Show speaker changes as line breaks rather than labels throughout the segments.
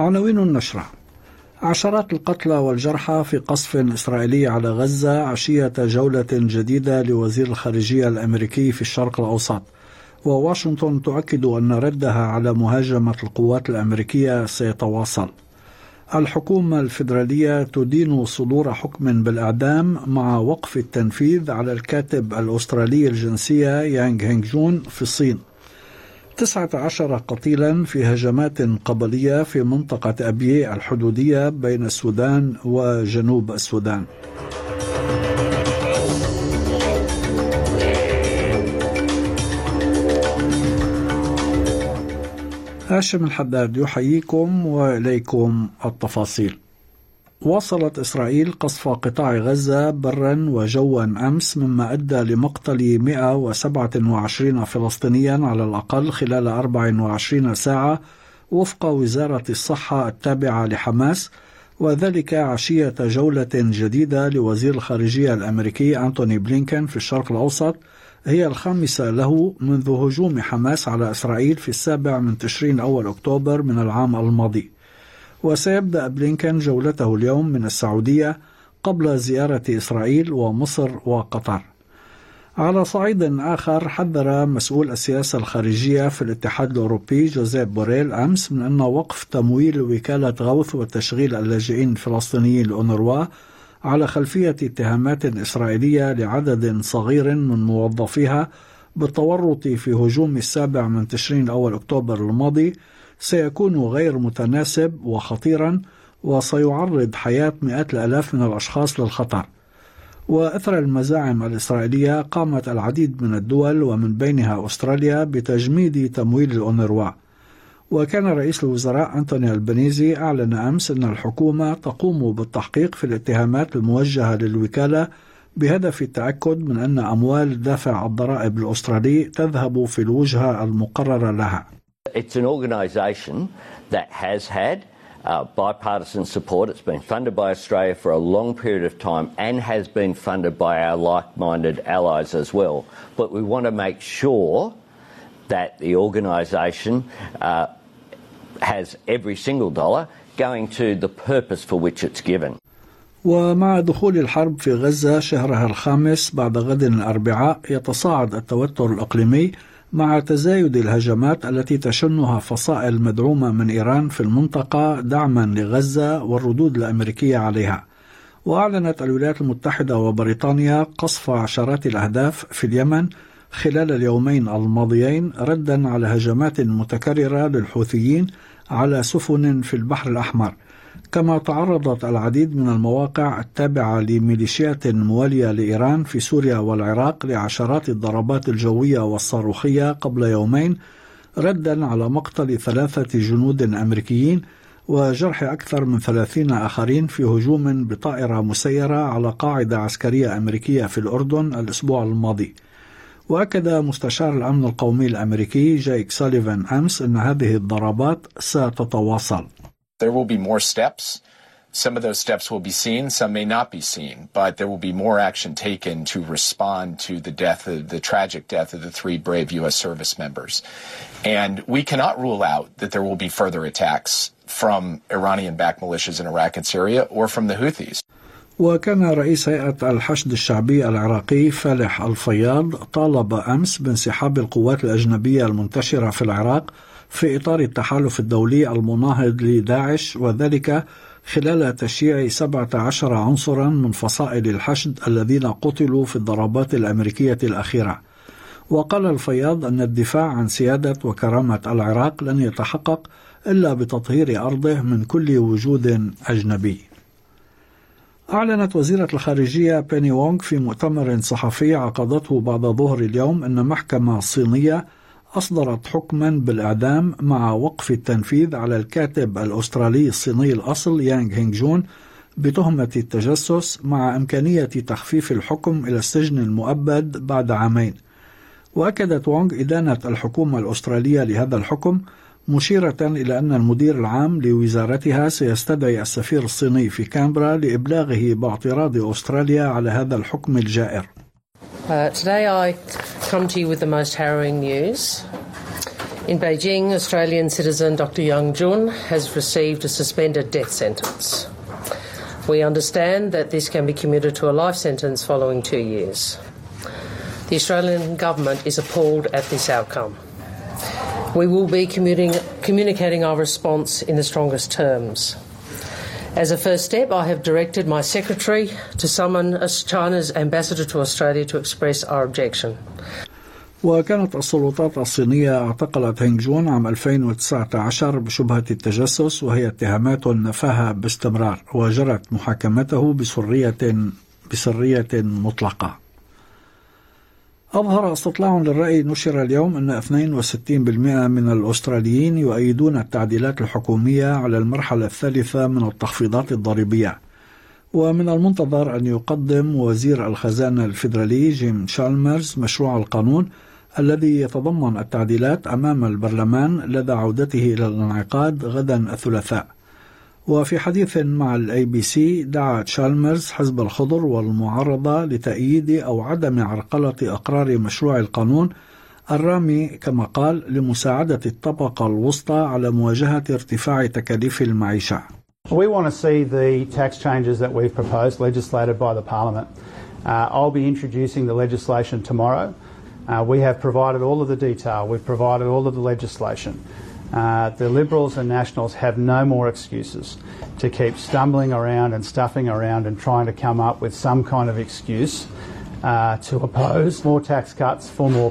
عناوين النشرة: عشرات القتلى والجرحى في قصف إسرائيلي على غزة عشية جولة جديدة لوزير الخارجية الأمريكي في الشرق الأوسط، وواشنطن تؤكد أن ردها على مهاجمة القوات الأمريكية سيتواصل. الحكومة الفيدرالية تدين صدور حكم بالإعدام مع وقف التنفيذ على الكاتب الأسترالي الجنسية يانغ هينغ جون في الصين. 19 قتيلا في هجمات قبلية في منطقة أبيي الحدودية بين السودان وجنوب السودان. هاشم الحداد يحييكم وإليكم التفاصيل. واصلت إسرائيل قصف قطاع غزة برا وجوا أمس، مما أدى لمقتل 127 فلسطينيا على الأقل خلال 24 ساعة وفق وزارة الصحة التابعة لحماس، وذلك عشية جولة جديدة لوزير الخارجية الأمريكي أنتوني بلينكن في الشرق الأوسط، هي الخامسة له منذ هجوم حماس على إسرائيل في 7 تشرين أول أكتوبر من العام الماضي. وسيبدأ بلينكن جولته اليوم من السعودية قبل زيارة إسرائيل ومصر وقطر. على صعيد آخر، حذر مسؤول السياسة الخارجية في الاتحاد الأوروبي جوزيف بوريل أمس من أن وقف تمويل وكالة غوث وتشغيل اللاجئين الفلسطينيين لأونروا على خلفية اتهامات إسرائيلية لعدد صغير من موظفيها بالتورط في هجوم 7 تشرين أول أكتوبر الماضي سيكون غير متناسب وخطيرا، وسيعرض حياة مئات الآلاف من الأشخاص للخطر. وأثر المزاعم الإسرائيلية، قامت العديد من الدول ومن بينها أستراليا بتجميد تمويل الأونروا. وكان رئيس الوزراء أنتوني البنيزي أعلن أمس أن الحكومة تقوم بالتحقيق في الاتهامات الموجهة للوكالة بهدف التأكد من أن أموال دافع الضرائب الأسترالي تذهب في الوجهة المقررة لها.
It's an organisation that has had bipartisan support. It's been funded by Australia for a long period of time and has been funded by our like-minded allies as well. But we want to make sure that the organisation has every single dollar going to the purpose for which it's given.
ومع دخول الحرب في غزة شهرها الخامس بعد غد الأربعاء، يتصاعد التوتر الإقليمي مع تزايد الهجمات التي تشنها فصائل مدعومة من إيران في المنطقة دعما لغزة والردود الأمريكية عليها. وأعلنت الولايات المتحدة وبريطانيا قصف عشرات الأهداف في اليمن خلال اليومين الماضيين ردا على هجمات متكررة للحوثيين على سفن في البحر الأحمر. كما تعرضت العديد من المواقع التابعة لميليشيات موالية لإيران في سوريا والعراق لعشرات الضربات الجوية والصاروخية قبل يومين، ردا على مقتل 3 جنود أمريكيين وجرح أكثر من 30 آخرين في هجوم بطائرة مسيرة على قاعدة عسكرية أمريكية في الأردن الأسبوع الماضي. وأكد مستشار الأمن القومي الأمريكي جايك ساليفان أمس أن هذه الضربات ستتواصل.
There will be more steps. Some of those steps will be seen, some may not be seen, but there will be more action taken to respond to the tragic death of the 3 brave U.S. service members. And we cannot rule out that there will be further attacks from Iranian-backed militias in Iraq and Syria or from the Houthis.
وكان رئيس هيئة الحشد الشعبي العراقي فالح الفياض طالب أمس بانسحاب القوات الأجنبية المنتشرة في العراق في إطار التحالف الدولي المناهض لداعش، وذلك خلال تشييع 17 عنصرا من فصائل الحشد الذين قتلوا في الضربات الأمريكية الأخيرة. وقال الفياض أن الدفاع عن سيادة وكرامة العراق لن يتحقق إلا بتطهير أرضه من كل وجود أجنبي. أعلنت وزيرة الخارجية بيني وونغ في مؤتمر صحفي عقدته بعد ظهر اليوم أن محكمة صينية أصدرت حكما بالإعدام مع وقف التنفيذ على الكاتب الأسترالي الصيني الأصل يانغ هينغ جون بتهمة التجسس، مع إمكانية تخفيف الحكم إلى السجن المؤبد بعد 2 عام. وأكدت وونغ إدانة الحكومة الأسترالية لهذا الحكم، مشيرة إلى أن المدير العام لوزارتها سيستدعي السفير الصيني في كامبرا لإبلاغه باعتراض أستراليا على هذا الحكم الجائر.
Today I come to you with the most harrowing news. In Beijing, Australian citizen Dr. Yang Jun has received a suspended death sentence. We understand that this can be commuted to a life sentence following 2 years. The Australian government is appalled at this outcome. We will be communicating our response in the strongest terms. As a first step, I have directed my secretary to summon China's ambassador to Australia to express our objection.
وكانت السلطات الصينية اعتقلت هينغ جون عام 2019 بشبهة التجسس، وهي اتهامات نفاها باستمرار، وجرت محاكمته بسرية مطلقة. أظهر استطلاع للرأي نشر اليوم أن 62% من الأستراليين يؤيدون التعديلات الحكومية على المرحلة الثالثة من التخفيضات الضريبية. ومن المنتظر أن يقدم وزير الخزانة الفيدرالي جيم تشالمرز مشروع القانون الذي يتضمن التعديلات أمام البرلمان لدى عودته إلى الانعقاد غدا الثلاثاء. وفي حديث مع الABC دعا تشالمرز حزب الخضر والمعارضة لتأييد أو عدم عرقلة أقرار مشروع القانون الرامي كما قال لمساعدة الطبقة الوسطى على مواجهة ارتفاع تكاليف المعيشة.
We want to see the tax changes that we've proposed legislated by the Parliament. I'll be introducing the legislation tomorrow. We have provided all of the detail. We've provided all of the legislation. The Liberals and Nationals have no more excuses to keep stumbling around and stuffing around and trying to come up with some kind of excuse to oppose more tax cuts for more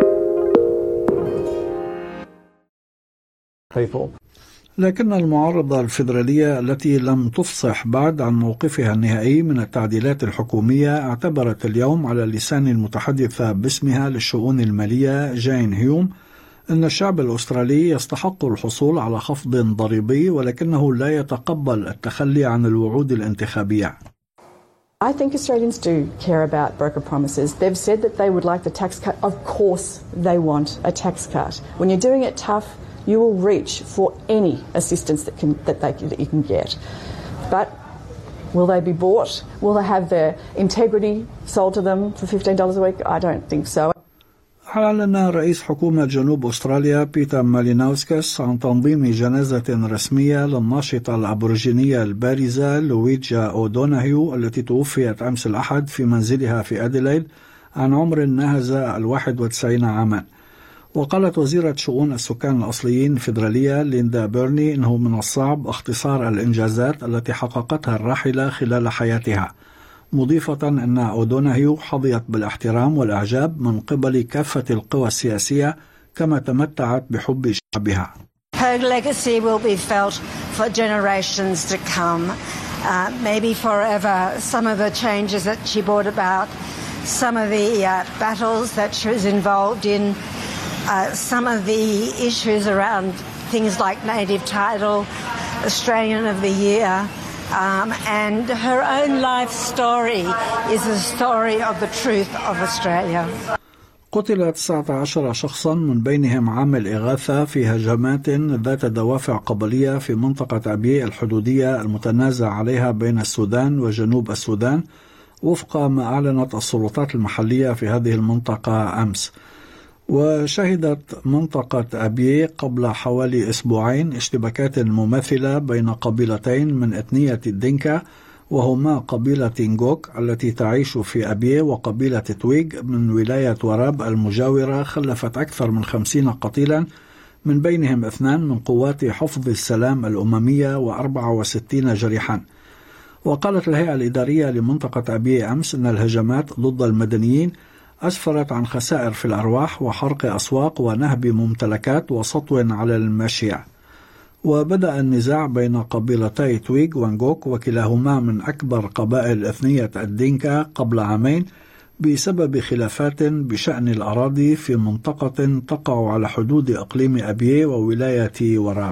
people.
لكن المعارضة الفيدرالية التي لم تفصح بعد عن موقفها النهائي من التعديلات الحكومية اعتبرت اليوم على لسان المتحدثة باسمها للشؤون المالية جين هيوم أن الشعب الأسترالي يستحق الحصول على خفض ضريبي، ولكنه لا يتقبل التخلي عن الوعود الانتخابية.
I think Australians do care about broker promises. They've said that they would like the tax cut. Of course they want a tax cut. When you're doing it tough, you will reach for any assistance that you can get. But will they be bought? Will they have their integrity sold to them for $15 a week? I don't think so.
أعلن رئيس حكومة جنوب أستراليا بيتر ماليناوسكس عن تنظيم جنازة رسمية للناشطة الأبوريجينية البارزة لويجا أودوناهيو التي توفيت أمس الأحد في منزلها في أديلايد عن عمر ناهز 91 عاما. وقالت وزيرة شؤون السكان الأصليين الفيدرالية ليندا بيرني إنه من الصعب اختصار الإنجازات التي حققتها الراحلة خلال حياتها، مضيفة أن أودوناهيو حظيت بالاحترام والإعجاب من قبل كافة القوى السياسية كما تمتعت بحب شعبها.
Her legacy will be felt for generations to come, maybe forever. Some of the changes that she brought about, some of the battles that she was involved in, some of the issues around things like native title, Australian of the Year, and her own life story is a story of the truth of Australia.
قتل 19 شخصا من بينهم عامل إغاثة في هجمات ذات دوافع قبلية في منطقة أبي الحدودية المتنازع عليها بين السودان وجنوب السودان، وفق ما أعلنت السلطات المحلية في هذه المنطقة أمس. وشهدت منطقة أبي قبل حوالي أسبوعين اشتباكات مماثلة بين قبيلتين من إثنية الدينكا، وهما قبيلة نغوك التي تعيش في أبي وقبيلة تويغ من ولاية وراب المجاورة، خلفت أكثر من 50 قتيلا من بينهم 2 من قوات حفظ السلام الأممية و64 جريحا. وقالت الهيئة الإدارية لمنطقة أبي أمس أن الهجمات ضد المدنيين أسفرت عن خسائر في الأرواح وحرق أسواق ونهب ممتلكات وسطو على الماشية. وبدأ النزاع بين قبيلتي تويغ ونغوك وكلاهما من أكبر قبائل إثنية الدينكا قبل عامين بسبب خلافات بشأن الأراضي في منطقة تقع على حدود إقليم أبيه وولاية وراب.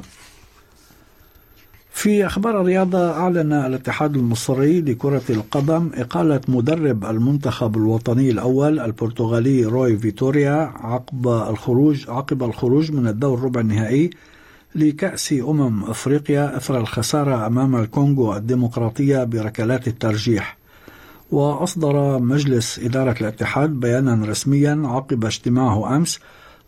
في أخبار الرياضة، أعلن الاتحاد المصري لكرة القدم إقالة مدرب المنتخب الوطني الأول البرتغالي روي فيتوريا عقب الخروج من الدور ربع النهائي لكأس أفريقيا أثر الخسارة أمام الكونغو الديمقراطية بركلات الترجيح. وأصدر مجلس إدارة الاتحاد بيانا رسميا عقب اجتماعه أمس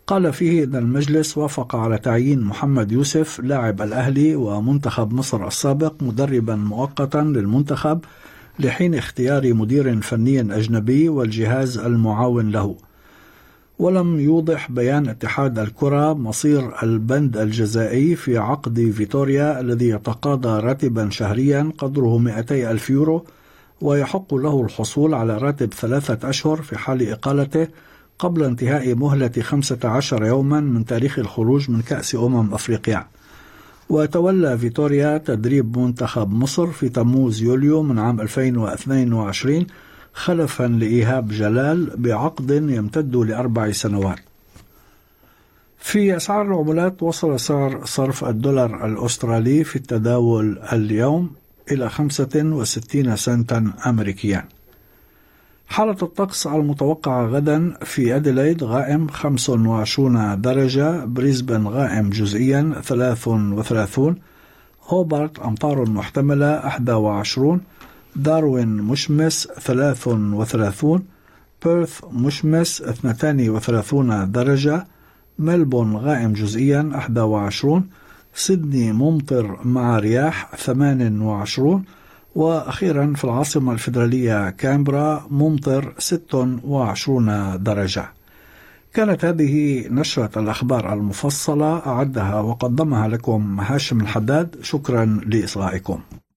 قال فيه أن المجلس وافق على تعيين محمد يوسف لاعب الأهلي ومنتخب مصر السابق مدربا مؤقتا للمنتخب لحين اختيار مدير فني أجنبي والجهاز المعاون له. ولم يوضح بيان اتحاد الكرة مصير البند الجزائي في عقد فيتوريا الذي يتقاضى راتبا شهريا قدره 200 ألف يورو، ويحق له الحصول على راتب 3 أشهر في حال إقالته قبل انتهاء مهلة 15 يوما من تاريخ الخروج من كأس أفريقيا. وتولى فيتوريا تدريب منتخب مصر في تموز يوليو من عام 2022 خلفا لإيهاب جلال بعقد يمتد ل4 سنوات. في أسعار العملات، وصل سعر صرف الدولار الأسترالي في التداول اليوم إلى 65 سنتا أمريكيا. حالة الطقس المتوقعة غدا: في أديلايد غائم 25 درجة، بريسبن غائم جزئيا 33، هوبارت أمطار محتملة 21، داروين مشمس 33، بيرث مشمس 32 درجة، ملبون غائم جزئيا 21، سيدني ممطر مع رياح 28، وأخيرا في العاصمة الفيدرالية كامبرا ممطر 26 درجة. كانت هذه نشرة الأخبار المفصلة، أعدها وقدمها لكم هاشم الحداد. شكرا لإصغائكم.